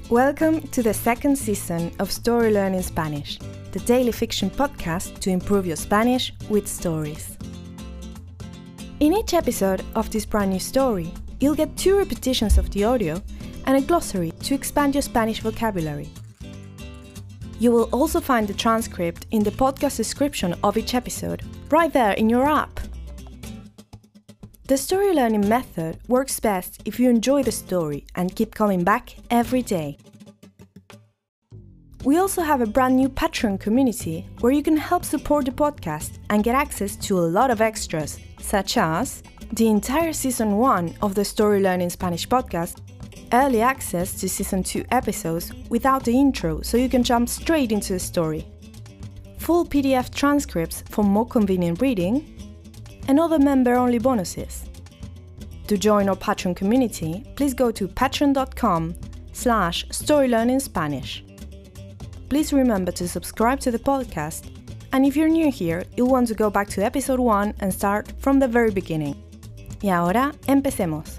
Welcome to the second season of Story Learning Spanish, the daily fiction podcast to improve your Spanish with stories. In each episode of this brand new story, you'll get 2 repetitions of the audio and a glossary to expand your Spanish vocabulary. You will also find the transcript in the podcast description of each episode, right there in your app. The story learning method works best if you enjoy the story and keep coming back every day. We also have a brand new Patreon community where you can help support the podcast and get access to a lot of extras, such as the entire Season 1 of the Story Learning Spanish podcast, early access to Season 2 episodes without the intro so you can jump straight into the story, full PDF transcripts for more convenient reading, and other member-only bonuses. To join our Patreon community, please go to patreon.com/storylearningspanish. Please remember to subscribe to the podcast, and if you're new here, you'll want to go back to episode 1 and start from the very beginning. Y ahora, empecemos.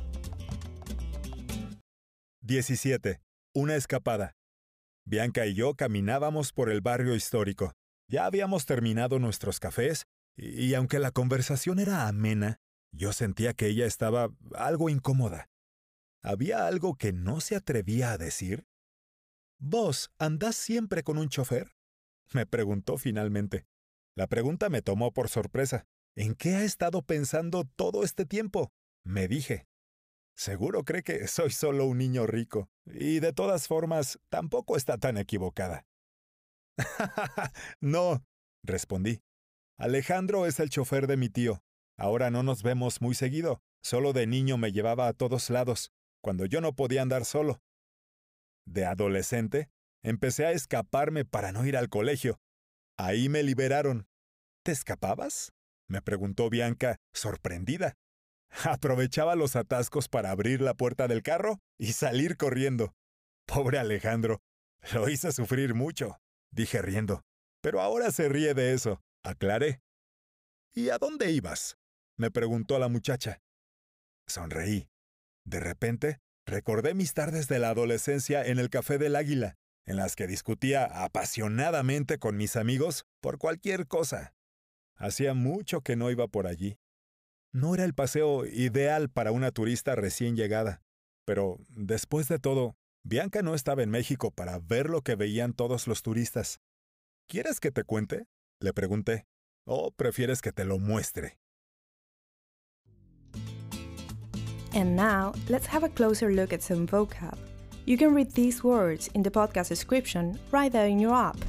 17. Una escapada. Bianca y yo caminábamos por el barrio histórico. Ya habíamos terminado nuestros cafés y aunque la conversación era amena, yo sentía que ella estaba algo incómoda. ¿Había algo que no se atrevía a decir? ¿Vos andás siempre con un chofer? Me preguntó finalmente. La pregunta me tomó por sorpresa. ¿En qué ha estado pensando todo este tiempo? Me dije. Seguro cree que soy solo un niño rico, y de todas formas, tampoco está tan equivocada. No, respondí. Alejandro es el chofer de mi tío. Ahora no nos vemos muy seguido. Solo de niño me llevaba a todos lados, cuando yo no podía andar solo. De adolescente, empecé a escaparme para no ir al colegio. Ahí me liberaron. ¿Te escapabas? Me preguntó Bianca, sorprendida. Aprovechaba los atascos para abrir la puerta del carro y salir corriendo. Pobre Alejandro, lo hice sufrir mucho, dije riendo. Pero ahora se ríe de eso, aclaré. ¿Y a dónde ibas? Me preguntó la muchacha. Sonreí. De repente, recordé mis tardes de la adolescencia en el Café del Águila, en las que discutía apasionadamente con mis amigos por cualquier cosa. Hacía mucho que no iba por allí. No era el paseo ideal para una turista recién llegada, pero después de todo, Bianca no estaba en México para ver lo que veían todos los turistas. ¿Quieres que te cuente? Le pregunté. ¿O prefieres que te lo muestre? And now, let's have a closer look at some vocab. You can read these words in the podcast description right there in your app.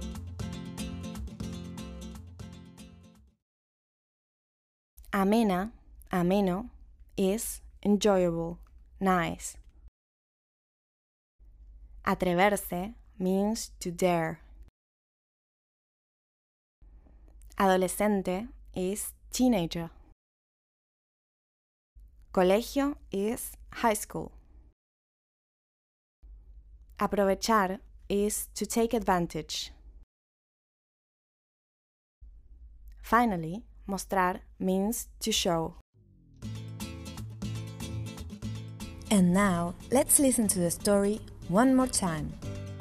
Amena, ameno, is enjoyable, nice. Atreverse means to dare. Adolescente is teenager. Colegio is high school. Aprovechar is to take advantage. Finally, mostrar means to show. And now, let's listen to the story one more time.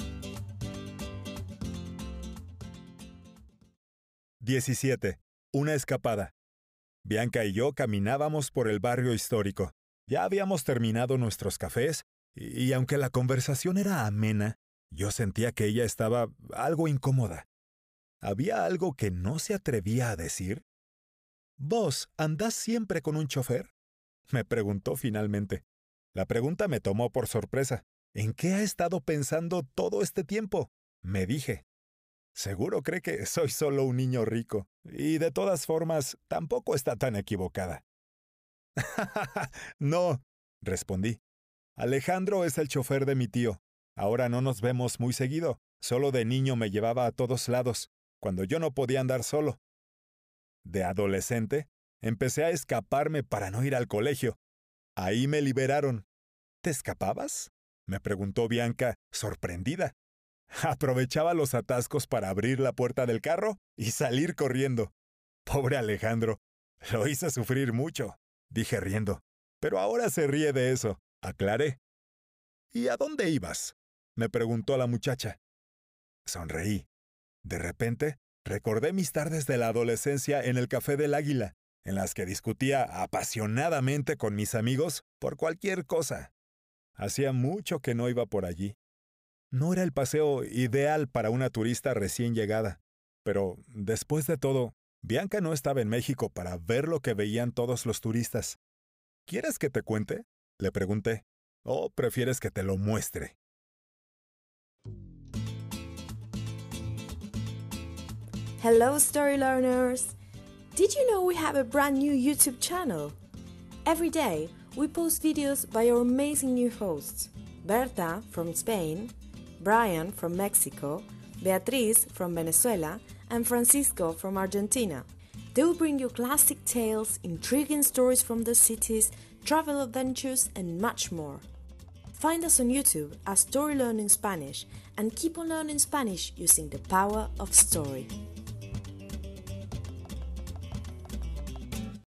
17. Una escapada. Bianca y yo caminábamos por el barrio histórico. Ya habíamos terminado nuestros cafés, y aunque la conversación era amena, yo sentía que ella estaba algo incómoda. ¿Había algo que no se atrevía a decir? ¿Vos andás siempre con un chofer? Me preguntó finalmente. La pregunta me tomó por sorpresa. ¿En qué ha estado pensando todo este tiempo? Me dije. Seguro cree que soy solo un niño rico, y de todas formas, tampoco está tan equivocada. No, respondí. Alejandro es el chofer de mi tío. Ahora no nos vemos muy seguido. Solo de niño me llevaba a todos lados, cuando yo no podía andar solo. De adolescente, empecé a escaparme para no ir al colegio. Ahí me liberaron. ¿Te escapabas? Me preguntó Bianca, sorprendida. Aprovechaba los atascos para abrir la puerta del carro y salir corriendo. Pobre Alejandro, lo hice sufrir mucho, dije riendo. Pero ahora se ríe de eso, aclaré. ¿Y a dónde ibas? me preguntó la muchacha. Sonreí. De repente, recordé mis tardes de la adolescencia en el Café del Águila, en las que discutía apasionadamente con mis amigos por cualquier cosa. Hacía mucho que no iba por allí. No era el paseo ideal para una turista recién llegada, pero, después de todo, Bianca no estaba en México para ver lo que veían todos los turistas. ¿Quieres que te cuente?, le pregunté. ¿O prefieres que te lo muestre? Hello, story learners! Did you know we have a brand new YouTube channel? Every day, we post videos by our amazing new hosts. Berta from Spain, Brian from Mexico, Beatriz from Venezuela, and Francisco from Argentina. They will bring you classic tales, intriguing stories from the cities, travel adventures, and much more. Find us on YouTube as Story Learning Spanish and keep on learning Spanish using the power of story.